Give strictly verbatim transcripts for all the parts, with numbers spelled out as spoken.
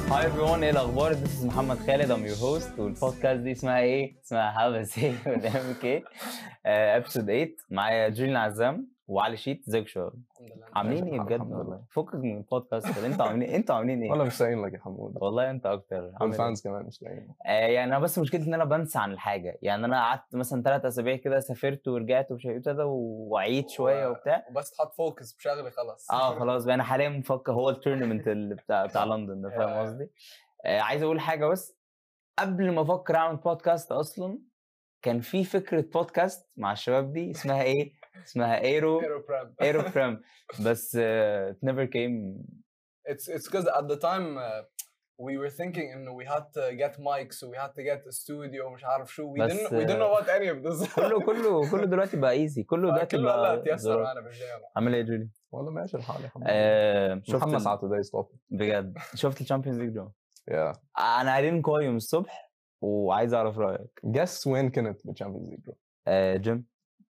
Hi everyone, ايه الاخبار؟ This is محمد خالد, I'm your host. والبودكاست دي اسمها ايه؟ اسمها Have a Say with إم كي. episode ثمانية. معايا جيلين عزام وعلي شيت. ازيكم شباب؟ عاملين ايه بجد والله؟ فكك من البودكاست ده. انتوا عاملين انتوا عاملين ايه؟ والله مش لاقيين لك يا حمود. والله انت اكتر. والفانز كمان مش لاقيين. آه يعني انا بس مشكلتي ان انا بنسى عن الحاجه. يعني انا قعدت مثلا ثلاث اسابيع كده, سافرت ورجعت ومش عارف كده وعيت شويه وبتاع, وبس تحط فوكس بشغلي خلاص. اه خلاص بقى انا حاليا مفكر هو التورنمنت اللي بتاع بتاع لندن ده, فاهم قصدي؟ آه عايز اقول حاجه بس قبل ما افكر اعمل بودكاست اصلا كان في فكره بودكاست مع الشباب دي اسمها ايه؟ اسمها ايرو ايرو بريم بس uh, it never came. It's it's because at the time uh, we were thinking انه we had to get mics, so we had to get a studio مش عارف شو. We didn't we didn't know what any of this. كله كله كله دلوقتي بقى ايزي, كله دلوقتي بقى لا تيسر معنا بالجامعة. عامل ايه جولي؟ والله ماشي الحال يا حمود. آه شفت محمد على توداي ستوب بجد. شفت الشامبيونز ليج جو؟ يا انا قاعدين قايم الصبح وعايز اعرف رايك. جس وين كنت بالشامبيونز ليج جو؟ آه جيم.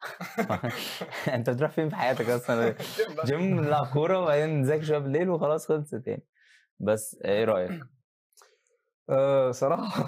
انت بتروح فين في حياتك اصلا؟ جيم, نلعب كوره وبعدين نذاكر شويه بالليل وخلاص خلصت يعني. بس ايه رايك؟ أه صراحه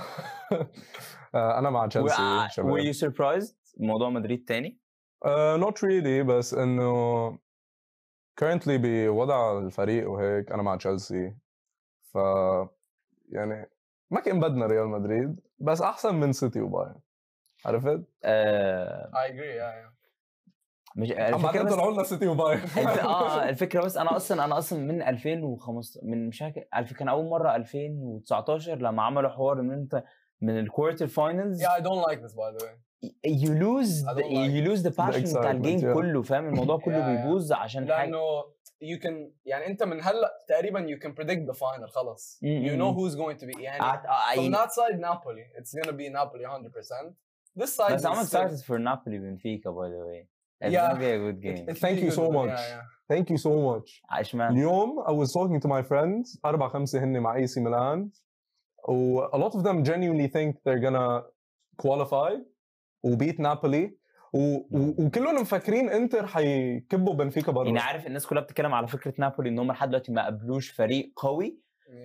أه انا مع تشيلسي شباب. were you surprised موضوع مدريد تاني؟ أه not really, بس انه currently بوضع الفريق وهيك انا مع تشيلسي. ف يعني ما كان بدنا ريال مدريد, بس احسن من سيتي وبايرن. عرفت؟ آه I agree. yeah, yeah. مش الفكره بس طلعوا لنا سيتي وبايرن. اه الفكره بس انا اصلا انا اصلا من ألفين وخمسة من مش فاكر كان اول مره ألفين وتسعتاشر لما عملوا حوار ان انت من الكوارتر فاينلز. Yeah, I don't like this by the way. you lose the, like you lose the passion بتاع الجيم yeah. كله, فاهم الموضوع كله yeah, بيبوظ عشان لأنه حاجه. you can يعني انت من هلا تقريبا you can predict the final خلاص. you know who's going to be يعني uh, uh, from that side Napoli it's gonna be Napoli one hundred percent. This side but I'm excited for Napoli Benfica by the way. It's yeah. gonna be a good game. Thank you so much. Yeah, yeah. Thank you so much. عشمان اليوم I was talking to my friends, أربعة خمسة هن مع إي سي ميلان, و a lot of them genuinely think they're gonna qualify وبيت نابولي, و... و... وكلهم مفكرين انتر حيكبوا بنفيكا برا. يعني عارف الناس كلها بتتكلم على فكره نابولي ان هم لحد دلوقتي ما قابلوش فريق قوي,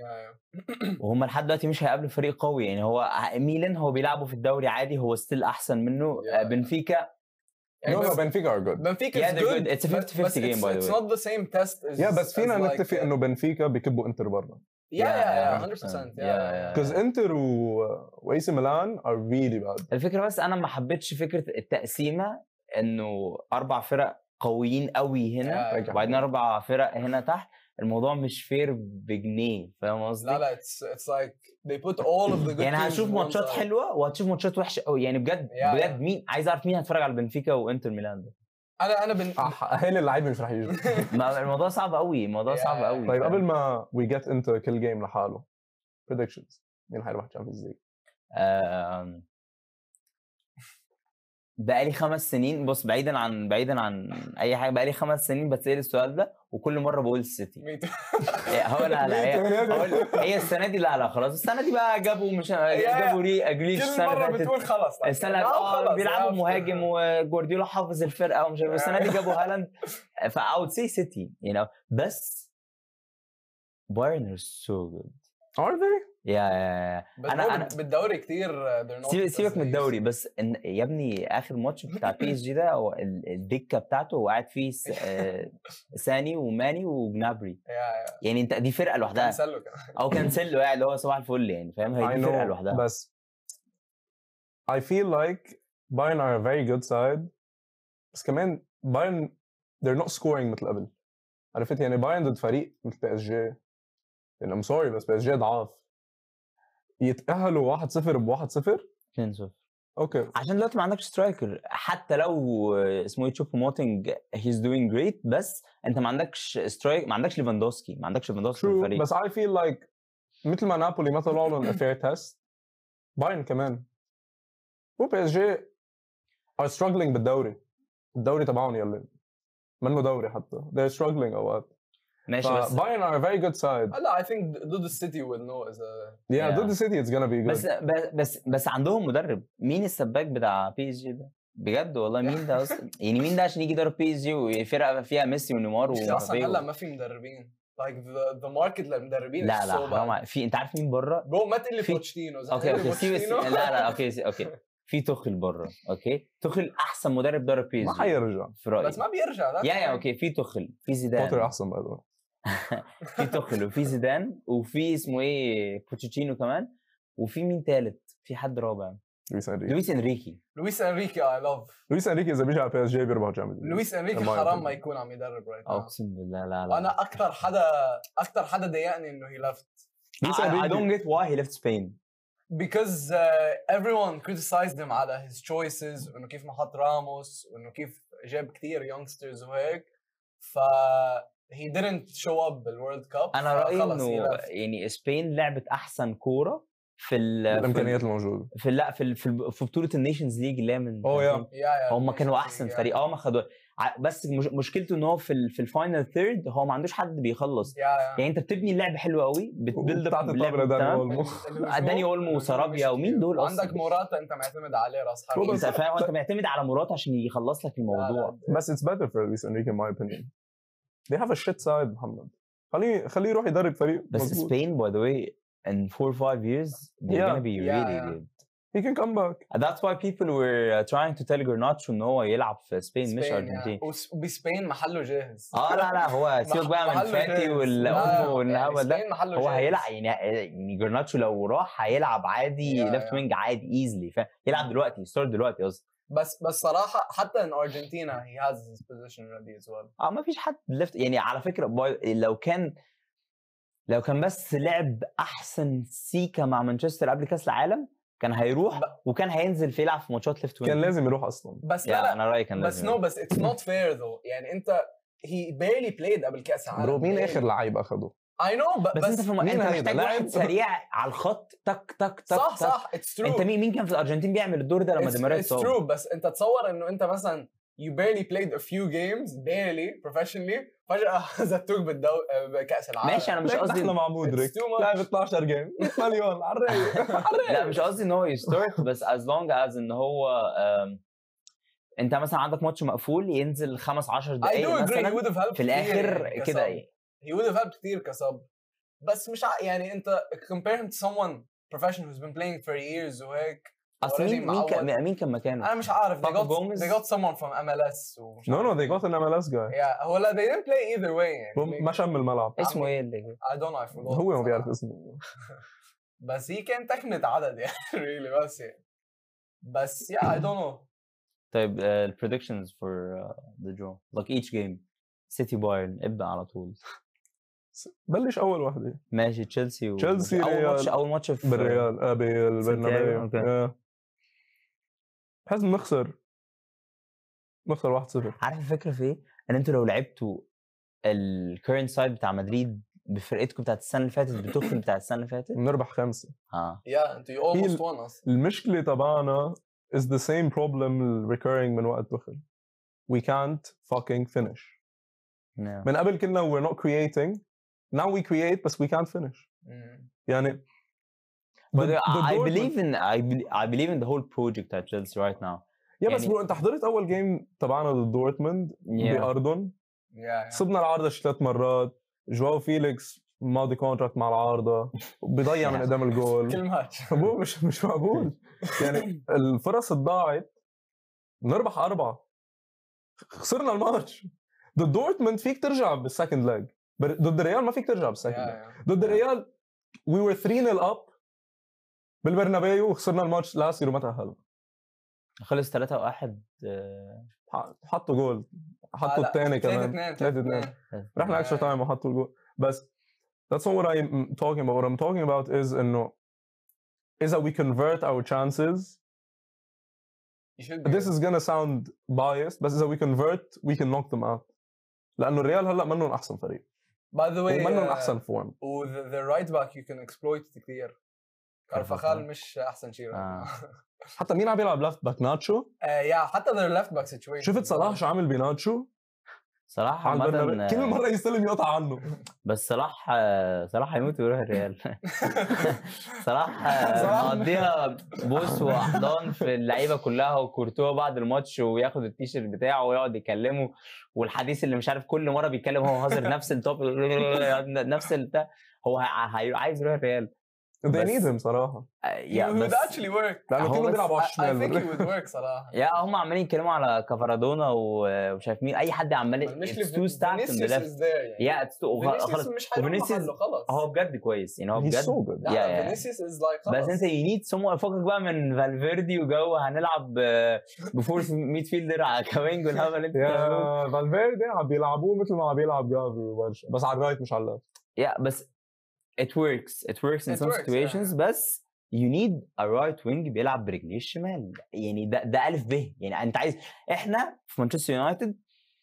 وهم لحد دلوقتي مش هيقابلوا فريق قوي. يعني هو ميلان هو بيلعبوا في الدوري عادي, هو ستيل احسن منه. بنفيكا no no Benfica are good. Benfica yeah, is good. good. It's a fifty fifty game by the way. It's not the same test as yeah, بس فينا like نتفق انه بنفيكا بيكبوا انتر برا. Yeah, yeah, yeah, one hundred percent. Yeah, yeah. Because انتر و واي سي ميلان are really bad. الفكره بس انا ما حبيتش فكره التقسيمه انه اربع فرق قويين قوي هنا وبعدين اربع فرق هنا تحت. الموضوع مش فير بجنيه, فاهم قصدي؟ لا لا it's it's like they put all of the good يعني هشوف ماتشات حلوه وهتشوف ماتشات وحشه قوي. يعني بجد yeah, بجد مين عايز اعرف مين هتفرج على بنفيكا وانتر ميلان ده. انا انا بن اهل اللعيبه مش راح يجوا. الموضوع صعب قوي, الموضوع صعب قوي. طيب قبل ما we get into كل جيم لحاله, predictions مين هيروح تشامبيونز ليج؟ بقالي خمس سنين بص بعيدا عن بعيدا عن اي حاجه, بقالي خمس سنين بتسال السؤال ده وكل مره بقول السيتي. هو لا لا هي, هي السنه دي لا لا خلاص السنه دي بقى جابوا مش جابوا ري اجريش السنه اللي فاتت بتقول خلاص السنه اه بيلعبوا مهاجم وجوارديولا حافظ الفرقه ومش عارف. السنه دي جابوا هالاند فاوت سي سيتي you know. بس بايرن is so good. are they؟ يا yeah, انا انا بالدوري كتير سيبك من الدوري بس إن يا ابني اخر ماتش بتاع بي اس جي ده هو الدكه بتاعته وقاعد فيه ساني وماني وجنابري. يعني انت دي فرقه لوحدها او كانسيلو قاعد اللي هو صباح الفل يعني, فاهم؟ هي دي فرقه لوحدها. بس I feel like Bayern are a very good side, بس كمان Bayern they're not scoring مثل قبل. عرفت يعني بايرن ضد فريق مثل بي اس جي يعني I'm sorry بس بي اس جي ضعاف يتأهلوا واحد صفر بواحد صفر اثنين صفر. اوكي عشان دلوقتي ما عندكش سترايكر, حتى لو اسمه تشوب موتينج هيز دوينج جريت, بس انت ما عندكش سترايك, ما عندكش ليفاندوسكي ما عندكش ليفاندوسكي في الفريق. بس I feel like مثل ما نابولي ما طلعوا لهم fair test, بايرن كمان و بي اس جي are struggling بالدوري. الدوري تبعهم يلا منه دوري حتى they're struggling اوقات. ماشي بس بايرن are a very good side. لا I think ضد السيتي will know is a yeah, yeah. ضد السيتي it's gonna be good. بس بس بس عندهم مدرب. مين السباك بتاع بي اس جي ده بجد والله؟ مين ده اصلا؟ يعني مين ده عشان يجي يدرب بي اس جي وفرقه فيها ميسي ونيمار ومبابي؟ اصلا هلا ما في مدربين like the the market للمدربين لا is لا so bad. حرام في انت عارف مين بره؟ برو ما تقول لي في- بوتشينو اوكي اوكي سيبك لا لا اوكي سي- اوكي في توخل بره اوكي توخل احسن مدرب درب بي ما اس جي حيرجع. في رايي بس ما بيرجع that's يا يا fine. اوكي في توخل في بوتر زيدان احسن بعد. في توخل وفي زيدان وفي اسمه ايه بوتشيتشينو كمان وفي مين تالت في حد رابع لويس انريكي. لويس انريكي لويس انريكي I love لويس انريكي اذا بيجي على بي اس جي بيربح جامد. لويس انريكي In my حرام opinion. ما يكون عم يدرب right now. اقسم بالله لا لا انا اكثر حدا اكثر حدا ضايقني انه he left لويس I, I انريكي don't get why he left Spain because uh, everyone criticized him على his choices وانه كيف ما حط راموس وانه كيف جاب كثير youngsters وهيك ف he didn't show up بالورلد كاب. انا رايي انه يعني سبين لعبت احسن كوره في ال الامكانيات الموجوده. في لا في ال- في ال- في بطوله النيشنز ليج اللي هي من أوه يا. يا هم كانوا احسن فريق اه ما خدوا ع- بس مش مشكلته ان هو في ال- في الفاينل ثيرد هو ما عندوش حد بيخلص يا يا يعني انت بتبني اللعب حلو قوي بتبيلد بتاعت اب الطابه لداني اولمو. داني اولمو وسارابيا ومين دول اصلا عندك موراتا انت معتمد عليه راس شو حرب بس- انت فاهم انت معتمد على مرات عشان يخلص لك الموضوع بس it's better for Luis Enrique in my opinion. They have a shit side محمد. خليه خليه يروح يدرب فريق بس مظبوط. سبين by the way in four or five years they're Yeah. gonna be Yeah, really yeah. good He can come back. that's why people were uh, trying to tell Garnacho ان هو يلعب في سبين مش ارجنتين وبسبين محله جاهز اه لا لا هو سيبك بقى من محله فاتي جاهز. والأولمو والهبل ده سبين محله هو جاهز. هيلعب يعني يعني جرناتشو لو راح هيلعب عادي Yeah, ليفت yeah. وينج عادي ايزلي فاهم يلعب دلوقتي يستارت دلوقتي قصدي بس بس صراحه حتى in Argentina he has his position ready as well. اه ما فيش حد ليفت يعني على فكره باي- لو كان لو كان بس لعب احسن سيكا مع مانشستر قبل كاس العالم كان هيروح ب- وكان هينزل في يلعب في ماتشات ليفت وينج كان لازم يروح اصلا. بس لا يا لا انا رايي كان بس لازم نو بس it's not fair though يعني انت he barely played قبل كاس العالم. برو مين barely. اخر لعيب اخده؟ I know but بس, انت في م... مين انت هيدا؟ محتاج لاعب- واحد سريع على الخط تك تك تك صح تك. صح it's true انت مين مين كان في الارجنتين بيعمل الدور ده لما it's, ديماريا it's اتصاب true بس انت تصور انه انت مثلا you barely played a few games barely professionally فجأة زتوك بالدو بكأس العالم. ماشي انا مش ليك قصدي دخله مع مودريك It's too much. لعب اثناشر جيم مية مليون على الرايق على الرايق. لا مش قصدي ان هو يستارت بس as long as ان هو آم، انت مثلا عندك ماتش مقفول ينزل خمس عشر I دقايق do agree he مثلا would have helped في الاخر كتير كده كصب. ايه he would have helped كتير كصب بس مش ع... يعني انت compare him to someone professional who's been playing for years وهيك اصل already مين مين كان معود. مين كان مكانه انا مش عارف they باكو got, جوميز؟ they got someone from M L S ومش No no عارف. they got an M L S guy. yeah هو لا they didn't play either way يعني هو ما شم الملعب. اسمه ايه اللي I don't know I forgot هو ما بيعرف صراحة. اسمه. بس هي كان تخمة عدد يعني really بس يعني بس yeah I don't know طيب ال predictions for uh, the draw like each game سيتي بايرن ابدا على طول بلش اول وحده ماشي تشيلسي و... تشيلسي اول ريال. ماتش اول ماتش في بالريال اه بالبرنابيو. أوكي. آه. بحس بنخسر نخسر واحد صفر. عارف الفكره في ايه؟ ان انتوا لو لعبتوا الكيرنت سايد بتاع مدريد بفرقتكم بتاعت السنه اللي فاتت بتخرج بتاعت السنه اللي فاتت بنربح خمسه. اه yeah انت you almost ال- won اصلا المشكله تبعنا is the same problem recurring من وقت دخل. We can't fucking finish. yeah. من قبل كنا we're not creating. Now we create بس we can't finish. مم. يعني But the- the I Dortmund- believe in I, be- I believe in the whole project at Chelsea right now. يا بس يعني- برو انت حضرت اول جيم تبعنا ضد دورتموند Yeah. بأردن. yeah yeah صبنا العارضه شي ثلاث مرات. جواو فيليكس ماضي كونتراكت مع العارضه بيضيع من قدام الجول. كل ماتش ابوه مش مش معقول. يعني الفرص ضاعت. نربح اربعه خسرنا الماتش. ضد دورتموند فيك ترجع بالسكند لاج. ضد الريال ما فيك ترجع بالسكند لاج. yeah yeah ضد الريال we were three nil up بالبرنابيو وخسرنا الماتش لاسير وما تأهلنا. خلص ثلاثة واحد آه، حطوا جول حطوا الثاني كمان ثلاثة اثنين رحنا اكسترا تايم وحطوا الجول. بس that's not what I'm talking about. What I'm talking about is انه إذا we convert our chances you should be this is gonna sound biased بس إذا we convert we can knock them out. لأنه الريال هلا منهم أحسن فريق by the way ومنهم uh, أحسن فورم. و the, the right back you can exploit كثير. كارفاخال مش احسن شيء right آه. now. حتى مين عم يلعب ليفت باك ناتشو. آه، يا حتى their left back situation شفت صلاح شو عامل بناتشو. صراحه على البرنابيو عامه كل مره يستلم يقطع عنه. بس صلاح صلاح هيموت ويروح الريال. صلاح صلاح. مقضيها بوس واحضان في اللعيبه كلها وكورتوا بعد الماتش وياخد التيشيرت بتاعه ويقعد يكلمه، والحديث اللي مش عارف كل مره بيتكلم هو هازر نفس التوب نفس البتاع. هو هي- عايز يروح الريال. they بس- need him صراحه يا he would بس actually work. لانه هو كله بس- بيلعب على I, I think he الشمال. would work صراحة. يا هم عمالين يتكلموا على كفارادونا ومش عارف مين، اي حد عمال مش it's too stacked in the Vinicius left. is there يعني. يا it's too Vinicius خلاص. مش حيروح Vinicius- محله خلاص. هو بجد كويس يعني، هو he's بجد so good. لا يا- لا يا. Vinicius is like خلاص. بس انت you need someone فوقك بقى من فالفيردي وجو هنلعب بفور ميد فيلدر على كوينج والهبل اللي انت بتعمله. يا فالفيردي عم بيلعبوه مثل ما عم بيلعب جافي وبرشا، بس على الرايت مش على اللفت. يا بس it works it works in It some works, situations yeah. بس you need a right wing بيلعب برجليه الشمال يعني. ده ده الف ب يعني. انت عايز احنا في مانشستر يونايتد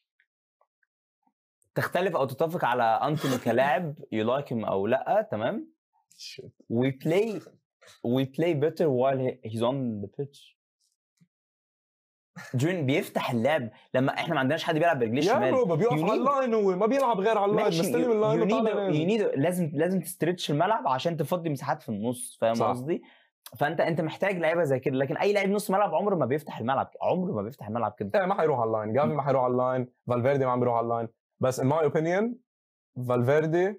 تختلف او تتفق على انتوني كلاعب you like him او لا، تمام. Shit. we play we play better while he- he's on the pitch. جون بيفتح اللعب لما احنا ما عندناش حد بيلعب برجليه يا الشمال. بروبا بيقف You على need- اللاين، هو ما بيلعب غير على اللاين، ماشي مستلم you, اللاين you وطالع need, نازل. you need لازم لازم تستريتش الملعب عشان تفضي مساحات في النص، فاهم صح. قصدي؟ فانت انت محتاج لعيبه زي كده، لكن اي لاعب نص ملعب عمره ما بيفتح الملعب، عمره ما بيفتح الملعب كده. ايه ما حيروح على اللاين، جافي ما حيروح على اللاين، فالفيردي ما عم بيروح على اللاين. بس in my opinion فالفيردي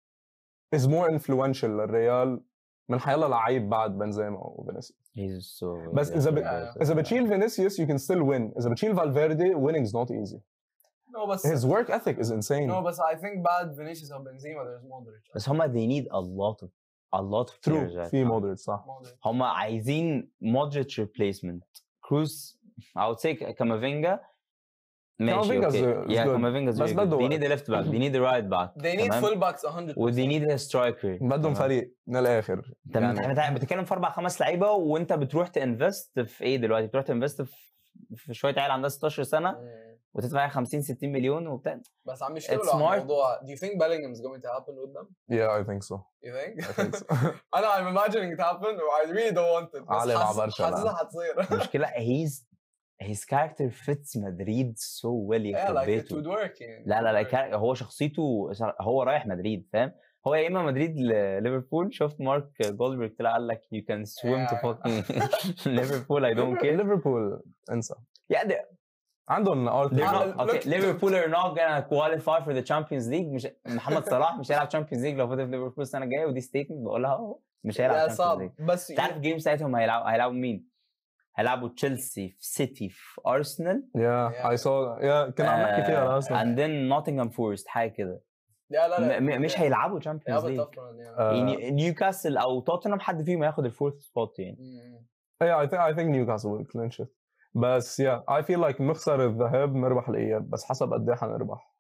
is more influential للريال من حيلا لعيب بعد بنزيما وفينيسيوس. He's so بس اذا ب... Yeah. اذا بتشيل فينيسيوس you can still win. اذا بتشيل فالفيردي winning is not easy. No بس His work ethic is insane. no بس I think بعد Vinicius او Benzema there's Modric. بس هما they need a lot of a lot of players. True. في مودريتش صح. Modric. هما عايزين مودريتش replacement. كروس I would say كامافينجا ماشي كامافينجا اوكي. is- is yeah good. كامافينجا بس is بده good. They need وقت. a left back. They need a right back. They need تمام؟ fullbacks one hundred percent. و they need a striker. بدهم تمام؟ فريق من الاخر. انت يعني بتتكلم في اربع خمس لعيبه وانت بتروح تنفست في ايه دلوقتي؟ بتروح تنفست في في شويه عيال عندها ستاشر سنه Mm. وتدفع خمسين ستين مليون وبتاع. بس عم It's يشتغلوا على smart. الموضوع. Do you think Bellingham is going to happen with them? Yeah, I think so. You think? I think so. أنا I'm imagining it happen I really don't want it. بس علي مع حاسس- برشا حاسسها الآن. حتصير. المشكله he's his character fits مدريد so well Yeah, يخرب like it بيته. would work يعني. لا لا لا كار- هو شخصيته هو رايح مدريد، فاهم؟ هو يا اما مدريد لليفربول. شفت مارك جولدبرغ طلع قال لك you can swim to Yeah. fucking ليفربول I don't care. ليفربول انسى. Yeah, they- عندهم they're ارثر. Ah, not, okay, look- Liverpool are not gonna qualify for the Champions League. مش محمد صلاح مش هيلعب Champions League لو فضل في ليفربول السنه الجايه، ودي ستيتمنت بقولها اهو مش هيلعب Yeah, Champions صعب. League. بس انت عارف الجيم ساعتهم هيلعبوا هيلعبوا مين؟ هيلعبوا تشيلسي في سيتي في ارسنال Yeah, I saw. Yeah, كنا عم نحكي فيها اصلا. and then Nottingham Forest حاجه كده. لا لا لا. م- م- مش هيلعبوا Yeah, Champions but League. tough run, yeah. Uh, يعني نيوكاسل او توتنهام حد فيهم هياخد الفورث سبوت يعني. Mm. Yeah, I think I think Newcastle will clinch it. بس yeah, I feel like نخسر الذهاب نربح الاياب، بس حسب قد ايه حنربح.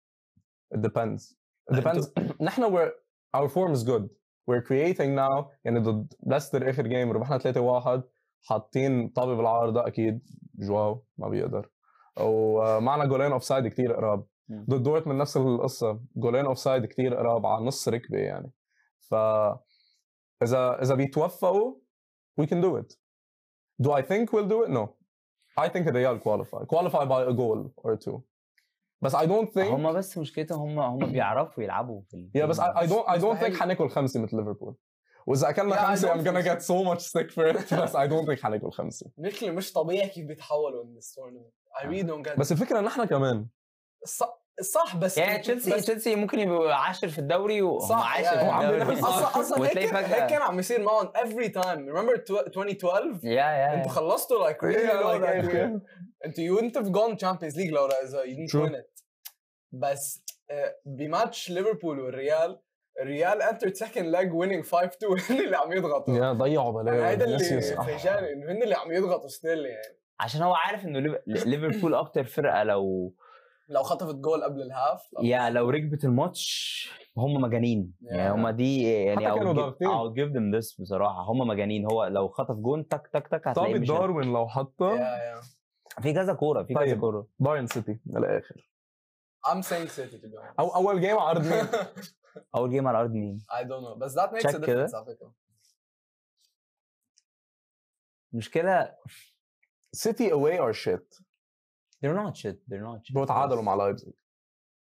It depends. It depends. نحن we're our form is good. We're creating now. يعني ضد ليستر اخر جيم ربحنا ثلاثة واحد، حاطين طابة بالعارضة اكيد جواو ما بيقدر. ومعنا جولين اوف سايد كثير قراب. مم. ضد دورتموند نفس القصة، جولين اوف سايد كثير قراب على نص ركبة يعني. ف اذا اذا بيتوفقوا we can do it. Do I think we'll do it? No. I think Real qualify. Qualify by a goal or two. بس I don't think. هم بس مشكلتهم هم هم بيعرفوا يلعبوا في ال- Yeah, بس I, I don't I don't مستحيل. think حناكل خمسة مثل ليفربول. وإذا أكلنا Yeah, I خمسة don't I'm gonna think get so much stick for it. بس I don't think حناكل خمسة. مثل مش طبيعي كيف بيتحولوا in this tournament. I really don't get it. بس الفكرة إن إحنا كمان. صح صح بس يعني تشيلسي بس- تشيلسي ممكن يبقوا عاشر في الدوري وهم صح، عاشر يعني في هو عم الدوري. بينافس. اصلا اصلا هيك وتلاقي كان- فجأة- هيك كان عم يصير معهم every time. Remember tw- twenty twelve؟ يا يا انتوا خلصتوا like really Yeah, low like, that yeah. year. انتوا you wouldn't have gone Champions League لو اذا you didn't True. win it. بس آه، بماتش ليفربول والريال الريال entered second leg winning five two. هن اللي عم يضغطوا. يا ضيعوا يعني بلاوي. هيدا اللي فينيسيوس. آه. فيجاني انه هن اللي عم يضغطوا ستيل يعني. عشان هو عارف انه ليف- ليفربول اكتر فرقه لو لو خطفت جول قبل الهاف يا لو ركبت الماتش هم مجانين يعني. Yeah. هم دي يعني حتى كانوا I'll give- ضاغطين. I'll give them this بصراحه. هم مجانين. هو لو خطف جون تك تك تك هتلاقيه طابة مش داروين لو حطها يا يا في كذا كوره في كذا طيب. كوره. بايرن سيتي للآخر. I'm saying City to be honest. أو أول جيم عرض مين؟ اول جيم على ارض مين؟ I don't know بس that makes Check a كده. difference على فكرة. مشكله سيتي away or shit. they're not shit they're not shit. برو تعادلوا مع لايبزيج.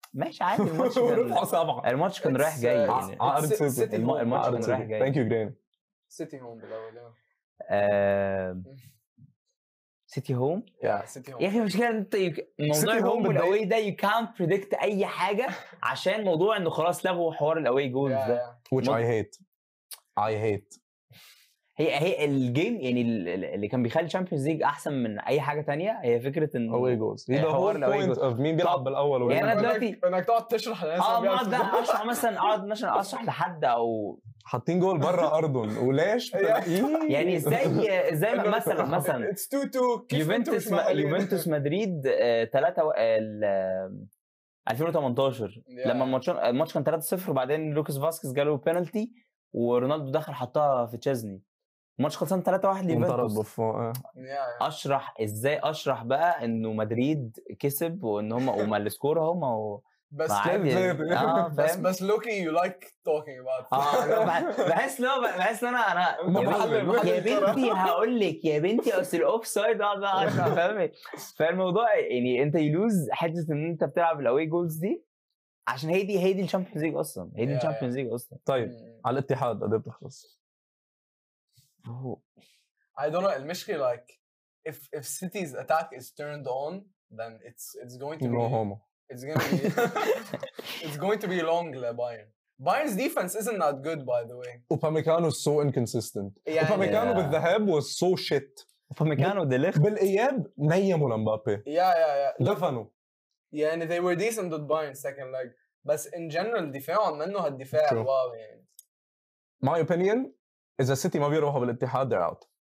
ماشي عادي الماتش كان ورفعوا سبعه الماتش كان It's, رايح جاي uh, يعني عقرب City- سيتي City الم- home. الماتش عقرب كان رايح سيتي جاي. ثانك يو جراني سيتي هوم بالاول yeah. آه... سيتي هوم yeah سيتي هوم يا اخي المشكله انت يك... موضوع City home الهوم بتضايق. والاوي ده يو كانت بريدكت اي حاجه عشان موضوع انه خلاص لغوا حوار الاوي جولز yeah, ده yeah. which I hate I hate هي هي الجيم يعني ال- ال- اللي كان بيخلي الشامبيونز ليج احسن من اي حاجه تانية هي فكره ان away goals هي the حوار whole ال away point goals. of مين بيلعب طب، بالاول يعني ومين أنا بيلعب- دلوقتي- انك انك تقعد تشرح للناس اه اللي اقعد بيلعبوا اشرح مثلا اقعد مثلا اشرح لحد او حاطين جول بره ارضهم وليش يعني ازاي ازاي مثلا مثلا اتس تو تو يوفنتوس يوفنتوس مدريد ثلاثة ألفين وتمنتاشر لما الماتش الماتش كان ثلاثة صفر وبعدين لوكاس فاسكيز جاله بينالتي ورونالدو دخل حطها في تشيزني الماتش خلصان ثلاثة واحد انطرد ليوفنتوس بفوق اشرح ازاي اشرح بقى انه مدريد كسب وان هم وما السكور هم و... بس ما عادي. اه بس فاهم بس لوكي يو لايك توكينج اباوت اه لا، بح- بحس لو بحس ان انا انا ما يا بحلل- بنتي- بحلل يا الكرة. بنتي هقول لك يا بنتي اصل الاوف سايد اقعد بقى اشرح فاهم فالموضوع يعني انت يلوز حته ان انت بلعب الاوي جولز دي عشان هي دي هي دي الشامبيونز ليج اصلا هي دي Yeah, الشامبيونز ليج اصلا طيب على الاتحاد قد ايه بتخلص؟ I don't know المشكلة like if if City's attack is turned on then it's it's going to نو be هومو it's going to be it's going to be long لبايرن Bayern's defense isn't that good by the way وباميكانو is so inconsistent يعني وباميكانو Yeah. بالذهاب was so shit فمكانه ديليخت بالاياب نيموا لمبابي yeah yeah yeah دفنوا يعني they were decent with Bayern second leg بس in general دفاعهم منه هالدفاع True. الواو يعني my opinion اذا السيتي ما بيروحوا بالاتحاد they're out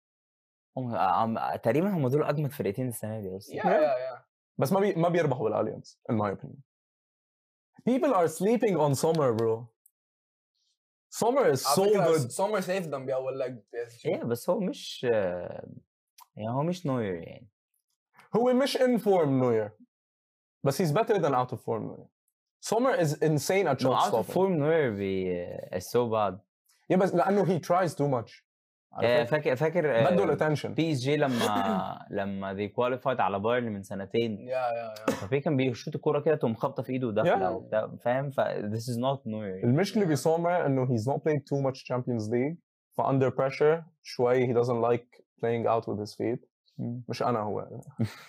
تقريبا هم دول اجمد فرقتين السنه دي اصلا yeah yeah yeah بس ما بي... ما بيربحوا بالاليانز in my opinion people are sleeping on Sommer bro Sommer is so على فكرة good Sommer saved them بأول leg ايه بس هو مش يعني هو مش نوير يعني هو مش in form نوير بس he's better than out of form نوير Sommer is insane at no, shot out of stopping form نوير بي is so bad yeah بس لانه he tries too much آه، فاكر فاكر بده آه، الاتنشن بي اس جي لما لما they qualified على بايرن من سنتين yeah yeah yeah فبي كان بيشوط الكوره كده تقوم خابطه في ايده وداخله Yeah. وبتاع فاهم ف this is not نوير المشكله بسومر انه he's not played too much Champions League ف under pressure شوي he doesn't like playing out with his feet مم. مش انا هو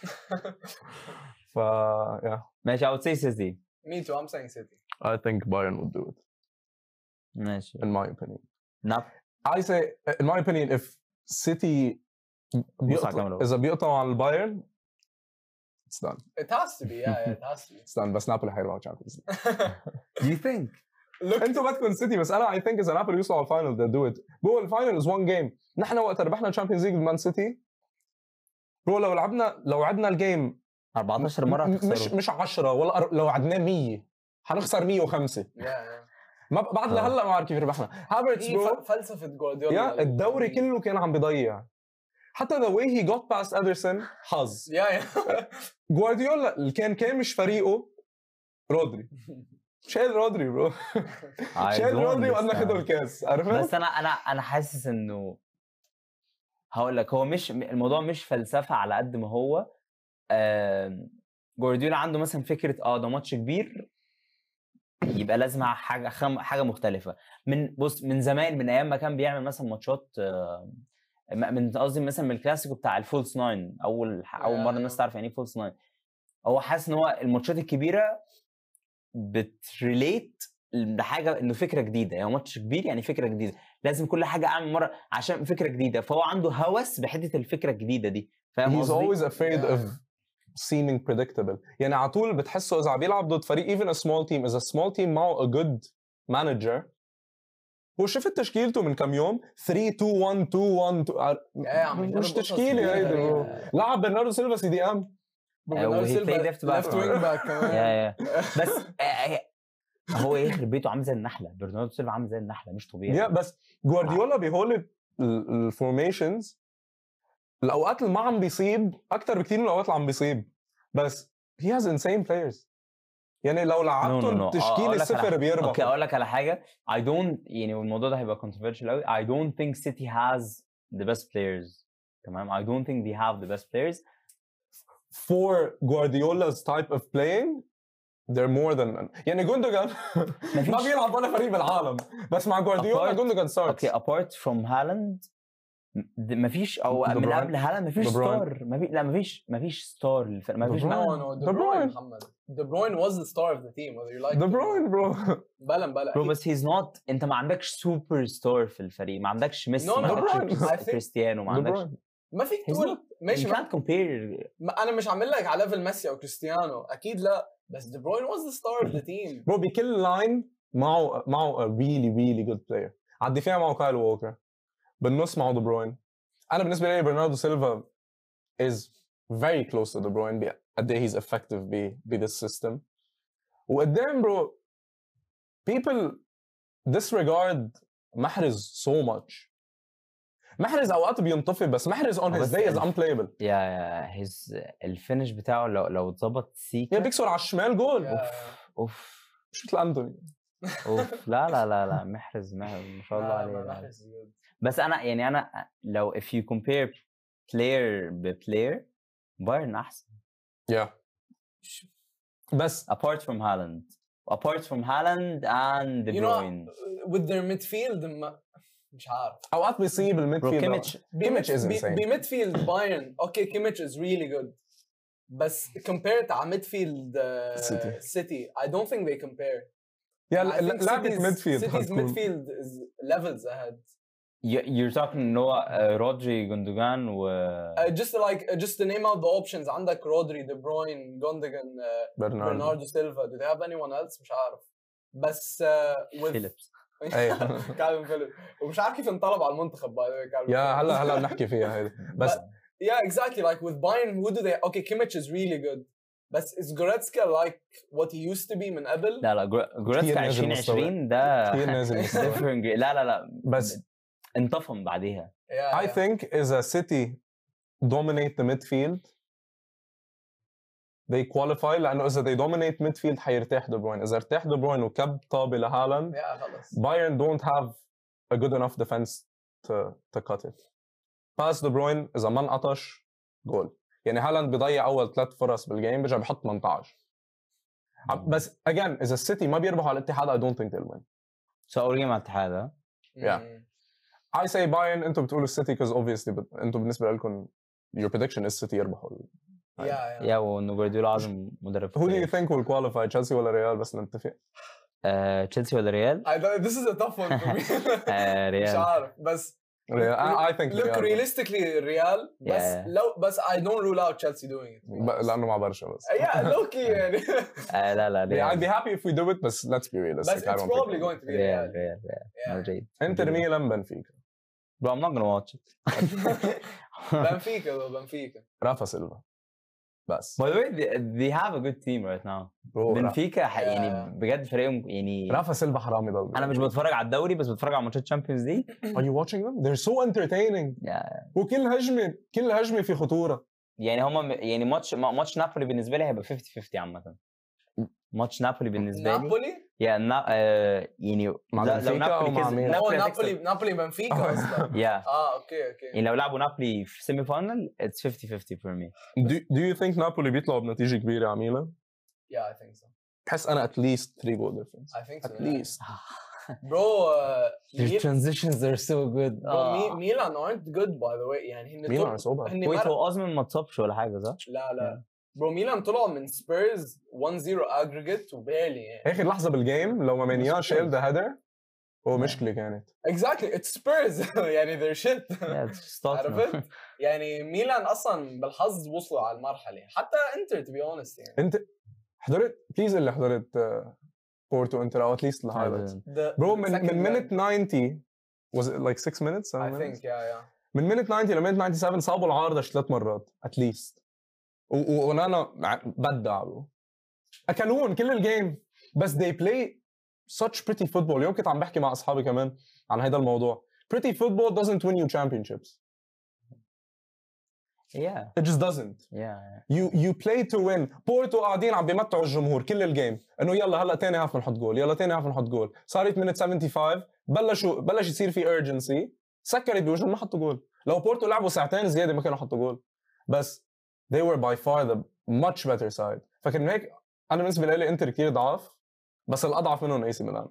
ف yeah ماشي I would say City me too I'm saying City I think Bayern would do it ماشي in my opinion ناب I say in my opinion if City بيقطع كاميرا. اذا بيقطعوا عن البايرن it's done it has to be yeah yeah it has to be it's done بس نابولي حيروحوا Champions League do you think look انتوا بدكم سيتي بس انا I think اذا نابولي يوصلوا على الفاينل they'll do it بو الفاينل is one game نحن وقت ربحنا الشامبيونز ليج بمان سيتي برو لو لعبنا لو عدنا الجيم أربعتاشر مره م- هتخسروا مش مش عشرة ولا أر- لو عدناه مية حنخسر مية وخمسة yeah yeah ما بعد لهلا ما بعرف كيف ربحنا هافرتس هي برو ف- فلسفة جوارديولا يا الدوري كله كان عم بيضيع حتى the way he got past Ederson حظ yeah yeah جوارديولا اللي كان كان مش فريقه رودري شايل رودري برو I شايل don't رودري وقال understand. ناخده الكاس عرفت؟ بس انا انا انا حاسس انه هقول لك هو مش الموضوع مش فلسفه على قد ما هو آم، جوارديولا عنده مثلا فكره اه ده ماتش كبير يبقى لازم حاجه خم... حاجه مختلفه من بص من زمان من ايام ما كان بيعمل مثلا ماتشات آه، م- من قصدي مثلا من الكلاسيكو بتاع الفولس ناين اول اول مره الناس تعرف يعني ايه فولس ناين هو حاسس ان هو الماتشات الكبيره بتريليت لحاجه انه فكره جديده يعني ماتش كبير يعني فكره جديده لازم كل حاجه اعمل مره عشان فكره جديده فهو عنده هوس بحته الفكره الجديده دي فاهم he's قصدي؟ always afraid Yeah. of seeming predictable يعني على طول بتحسه اذا عم بيلعب ضد فريق even a small team اذا small team معه a good manager وشفت تشكيلته من كم يوم ثلاثة اثنين واحد اثنين واحد يا عم يجرب مش قصص تشكيله كتير هيدي برو غريبة. لعب برناردو سيلفا سي دي ام آه، وهي played left back. left wing back كمان يا يا بس آه، آه، هو يخرب بيته عامل زي النحله برناردو سيلفا عامل زي النحله مش طبيعي يا بس جوارديولا بهول الفورميشنز الاوقات اللي ما عم بيصيب اكثر بكثير من الاوقات اللي عم بيصيب بس he has insane players يعني لو لعبتهم no, no. تشكيل أقول لك الصفر على- بيربحوا اوكي اقول لك على حاجه I don't يعني والموضوع ده هيبقى controversial قوي I don't think City has the best players تمام I don't think they have the best players for Guardiola's type of playing they're more than يعني جوندوجان ما بيلعب ولا فريق بالعالم بس مع جوارديولا Apart- جوندوجان ستارت اوكي apart from هالاند ما فيش او دي من بروين. قبل هالاند ما فيش دي بروين. ستار ما في لا ما فيش ما فيش ستار للفريق ما دي فيش بروين. No, no, De De Bruyne. Bruyne, محمد. De Bruyne was the star of the team, whether you like دي it or not. بروين برو بلا بلا. برو بس he's not انت ما عندكش سوبر ستار في الفريق ما عندكش ميسي No, ما no, عندكش De Bruyne. I think- كريستيانو ما دي عندكش بروين. ما فيك He's تقول ماشي you ما- can't compare ما انا مش عامل لك على ليفل ميسي او كريستيانو اكيد لا بس دي بروين was the star of the team. برو بكل لاين معه معه a really really good player على الدفاع معه كايل ووكر بالنص معه دي بروين انا بالنسبه لي برناردو سيلفا is very close to De Bruyne قد ايه he's effective ب ب this system وقدام برو people disregard محرز so much محرز اوقات بينطفي بس محرز on his بس day is ال- unplayable يا يا his الفينش بتاعه لو لو اتظبط سيكا يا بيكسر على الشمال جول يا- اوف مش مثل انتوني اوف لا لا لا لا محرز محرز ما شاء الله لا، عليه ما لا. محرز good. بس انا يعني انا لو if you compare player بplayer بايرن احسن yeah بس apart from Haaland apart from Haaland and De You know, Bruyne with their midfield ما- مش عارف اوقات بيصيب برو الميدفيلد كيميتش كيميتش is insane. بميدفيلد بايرن اوكي كيميتش is really good بس compared على ميدفيلد City. سيتي I don't think they compare. يا I think لعبة City's- ميدفيلد City's midfield is levels ahead. You- you're talking ان هو آه، رودري جوندوجان و Uh, just like uh, just to name out the options عندك رودري دي بروين جوندوجان uh, برناردو برناردو سيلفا. Do they have anyone else؟ مش عارف بس uh, with فيليبس أيوة. كالفين فيليب ومش عارف كيف انطلب على المنتخب by the way كالفين يا فيليبس. هلا هلا بنحكي فيها هيدي بس Yeah, exactly. Like with Bayern, who do they? Okay, Kimmich is really good, but is Goretzka like what he used to be من قبل? لا لا جور- جوريتسكا نازل عشرين عشرين ده كثير نازل مستوى. different grade. لا لا لا بس انطفم بعديها Yeah, I yeah. think إذا City dominate the midfield they qualify لأنه إذا they dominate midfield حيرتاح دي بروين إذا ارتاح دي بروين وكب طابة لهالاند Yeah, خلص. Bayern don't have a good enough defense to to cut it. باس دي بروين إذا ما انقطش جول يعني هالاند بيضيع أول ثلاث فرص بالجيم بيرجع بحط ثمانية عشر عم- بس again إذا السيتي ما بيربحوا على الاتحاد I don't think they'll win. سو اول جيم على الاتحاد ها؟ Yeah. Mm. I say Bayern انتم بتقولوا السيتي because obviously but انتم بالنسبة لكم your prediction is City يربحوا. Yeah, yeah. يا وانه جوارديولا اعظم مدرب في Who do you التاريخ. think will qualify تشيلسي ولا ريال بس نتفق؟ آه، تشيلسي ولا ريال؟ I don't, this is a tough one for me. آه، مش ريال عارف بس ريال I, I think look ريال realistically الريال بس Yeah. لو بس I don't rule out Chelsea doing it. ب- لأنه مع برشا بس. Yeah, low key يعني. آه، لا لا Yeah, I'd be ريال happy if we do it بس let's be realistic. بس I it's don't think probably we'll. going to be ريال Real. ريال ريال Yeah. مدريد انتر ميلان بنفيكا Bro, I'm not gonna watch it. بنفيكا though, بنفيكا. رافا سيلفا بس By the way, they, they have a good team right now. برو، را- بنفيكا ح- Yeah. يعني بجد فريقهم يعني رافا سيلفا حرام يضل. انا مش بتفرج على الدوري بس بتفرج على ماتشات تشامبيونز ليج. Are you watching them? They're so entertaining. Yeah. وكل هجمة كل هجمة في خطورة. يعني هما يعني ماتش ما- ماتش نابولي بالنسبه لي هيبقى خمسين خمسين عامه. ماتش نابولي بالنسبه لي نابولي؟ يا نا... آه يعني مع لا- بنفيكا أو نابولي مع كسب- مين؟ هو نابولي نابولي هتكسب. نابولي بنفيكا اصلا. يا اه اوكي اوكي. يعني لو لعبوا نابولي في سيمي فاينل اتس خمسين خمسين for me. Do, do you think نابولي بيطلعوا بنتيجة كبيرة على ميلان؟ Yeah, I think so. بحس أنا at least three goal difference. I think so. At yeah. least. Bro, uh, Their Mil- transitions are so good. bro Mi- Milan aren't good by the way. يعني هن ميلان طل- صوبة. هن ويت مر- هو اوزمن ما اتصابش ولا حاجه صح؟ لا لا برو ميلان طلعوا من سبيرز واحد صفر aggregate وبالي يعني. آخر لحظة بالجيم لو ما مانيا شال ذا هيدر هو مشكلة كانت. Exactly, it's Spurs. يعني they're shit. Yeah, it's Tottenham. عرفت؟ يعني ميلان اصلا بالحظ وصلوا على المرحله حتى انتر to be honest يعني. أنت حضرت بليز اللي حضرت آه، بورتو انتر او اتليست الهايلايتس. The- برو the من second من leg, minute ninety was it like six minutes? seven I minutes? think yeah yeah. من minute ninety ل minute ninety-seven صابوا العارضة ثلاث مرات اتليست. ونانا بدع برو. اكلون كل الجيم بس they play such pretty football. اليوم كنت عم بحكي مع اصحابي كمان عن هذا الموضوع. Pretty football doesn't win you championships. Yeah, It just doesn't. yeah. You you play to win. بورتو قاعدين عم بيمتعوا الجمهور كل الجيم انه يلا هلا ثاني هاف بنحط جول، يلا ثاني هاف بنحط جول. صارت minute seventy-five بلشوا بلش يصير في urgency، سكرت بوجههم ما حطوا جول. لو بورتو لعبوا ساعتين زياده ما كانوا حطوا جول. بس they were by far the much better side. فكان هيك انا بالنسبه لي انتر كثير ضعاف، بس الاضعف منهم اي سي ميلان.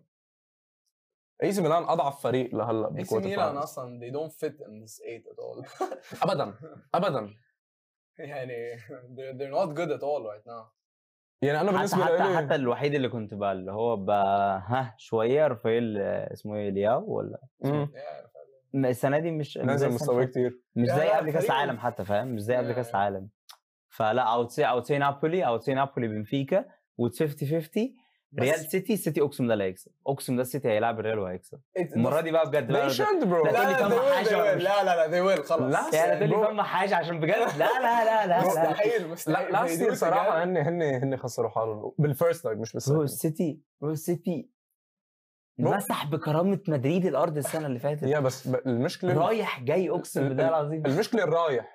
اي سي ميلان اضعف فريق لهلا اي سي بالكوارتر ميلان فاينلز. اصلا they don't fit in this eight at all. ابدا ابدا. يعني they're, they're not good at all right now. يعني انا حتى بالنسبه حتى, لي حتى الوحيد اللي كنت بقى اللي هو بقى ها شويه رافائيل آه، اسمه ايه لياو ولا مم. Yeah. م- السنه دي مش مش زي نازل السنة مستواه اللي فاتت. كثير. مش لا، زي لا، قبل كاس فريق- العالم حتى فاهم مش زي قبل Yeah, كاس yeah. العالم. فلا اوتسي اوتسي نابولي اوتسي نابولي بنفيكا وتس خمسين خمسين ريال سيتي سيتي اقسم ده اللي هيكسب اقسم ده السيتي هيلعب الريال وهيكسب المره دي بقى بجد they بقى- should bro. لا، لا تقول لي لا فما they will, حاجة they ولا will. مش- لا لا لا they will خلص. لا، يعني تقول لي برو. فما حاجه عشان بجد لا لا لا لا لا, لا. مستحيل مستحيل. لا لاست They do يير it صراحه again. هن هن هن خسروا حالهم بالفيرست لايك مش برو بالسكند. السيتي برو السيتي برو. مسح بكرامه مدريد الارض السنه اللي فاتت يا بس ب- المشكله رايح جاي اقسم ال- بالله ال- العظيم. المشكله الرايح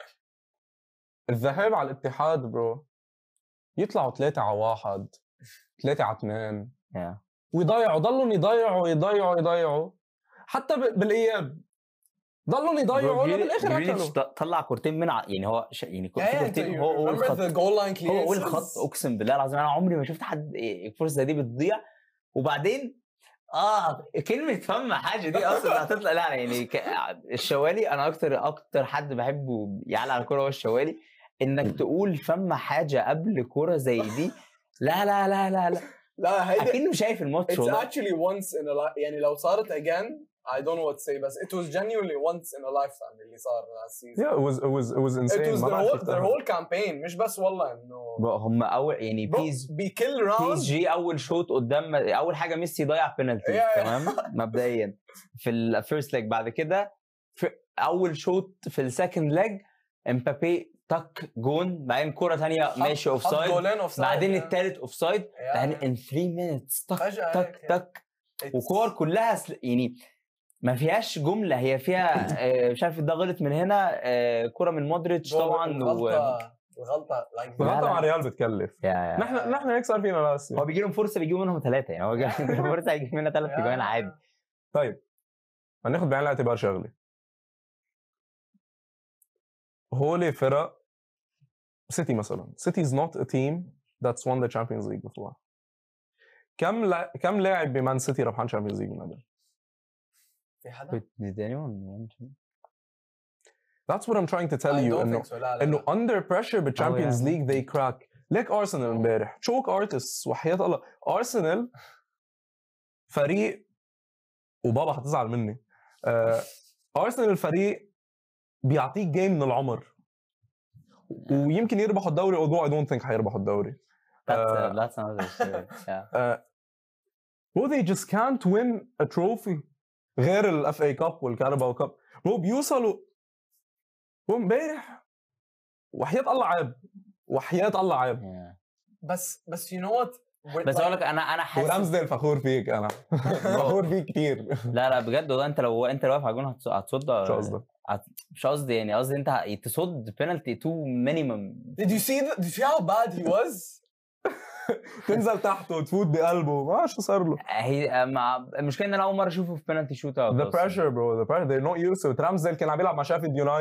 الذهاب على الاتحاد برو يطلعوا ثلاثة على واحد ثلاثة على اثنين Yeah. ويضيعوا ضلهم يضيعوا يضيعوا يضيعوا حتى ب- بالاياب ضلهم يضيعوا برو، ولا جريليش- بالاخر جريليش اكلوا. ط- طلع كورتين من ع... يعني هو ش... يعني Yeah, في yeah, كورتين you هو اول remember خط the goal line هو اول clearances? خط اقسم بالله العظيم انا عمري ما شفت حد إيه، الفرصه زي دي بتضيع وبعدين اه كلمه فم حاجه دي اصلا هتطلع لا يعني ك... الشوالي انا اكتر اكتر حد بحبه يعلى على الكوره هو الشوالي انك تقول فم حاجه قبل كوره زي دي لا لا لا لا لا لا هيدي اكنه شايف الماتش it's والله. actually once in a life. يعني لو صارت again I don't know what to say بس it was genuinely once in a lifetime اللي صار last season. Yeah, it was it was it was It insane. was ما their بعرف whole, كيف their تعمل. whole campaign مش بس والله انه بقى هم اول يعني bro بيز بكل بي اس راوند جي اول شوط قدام اول حاجه ميسي ضيع بينالتي Yeah, yeah. تمام مبدئيا في الفيرست ليج بعد كده في اول شوط في السكند ليج امبابي تك جون بعدين كره ثانيه ماشي اوف سايد بعدين الثالث اوف سايد بعدين ان ثلاثة مينتس تك فجأة تك هيك. تك وكور كلها سل... يعني ما فيهاش جمله هي فيها آه، مش عارف ده غلط من هنا آه، كره من مودريتش طبعا و... الغلطه الغلطه like لا، الغلطه لا. مع ريال بتكلف. يا يا. نحن نحن هيك صار فينا لاست هو بيجي لهم فرصه بيجيبوا منهم ثلاثه يعني هو جاي لهم فرصه يجيب منها ثلاث اجوان عادي. طيب هناخد بعين الاعتبار شغله. هولي فرق سيتي مثلا سيتي is not a team that's won the Champions League before. كم لا... كم لاعب بمان سيتي ربحان Champions League من قبل؟ في حدا؟ Did anyone That's what I'm trying to tell I you don't انه think so. لا لا انه لا. under pressure بالChampions yeah. League they crack. ليك ارسنال امبارح تشوك ارتست وحياة الله ارسنال فريق وبابا هتزعل مني آه، ارسنال الفريق بيعطيك جيم من العمر ويمكن يربحوا الدوري although I don't think هيربحوا الدوري. That's, Uh, uh, that's another story. Yeah. uh, bro they just can't win a trophy غير الاف اي كاب والكاراباو كاب. bro بيوصلوا bro امبارح وحياة الله عيب وحياة الله عيب. Yeah. بس بس you know what We're بس like- اقول لك انا انا حاسس ورمزديل فخور فيك انا فخور فيك كتير. لا لا بجد والله انت لو انت لو واقف على الجون هتص- هتصد شو قصدك؟ مش قصدي يعني قصدي انت تصد بينالتي تو مينيمم. Did you see the, did you see how bad he was? تنزل تحته وتفوت بقلبه ما شو صار له. هي مع المشكله ان انا اول مره اشوفه في بينالتي شوت اوت The pressure bro the pressure they're not used to it. رمزديل كان عم يلعب مع شافيلد يونايتد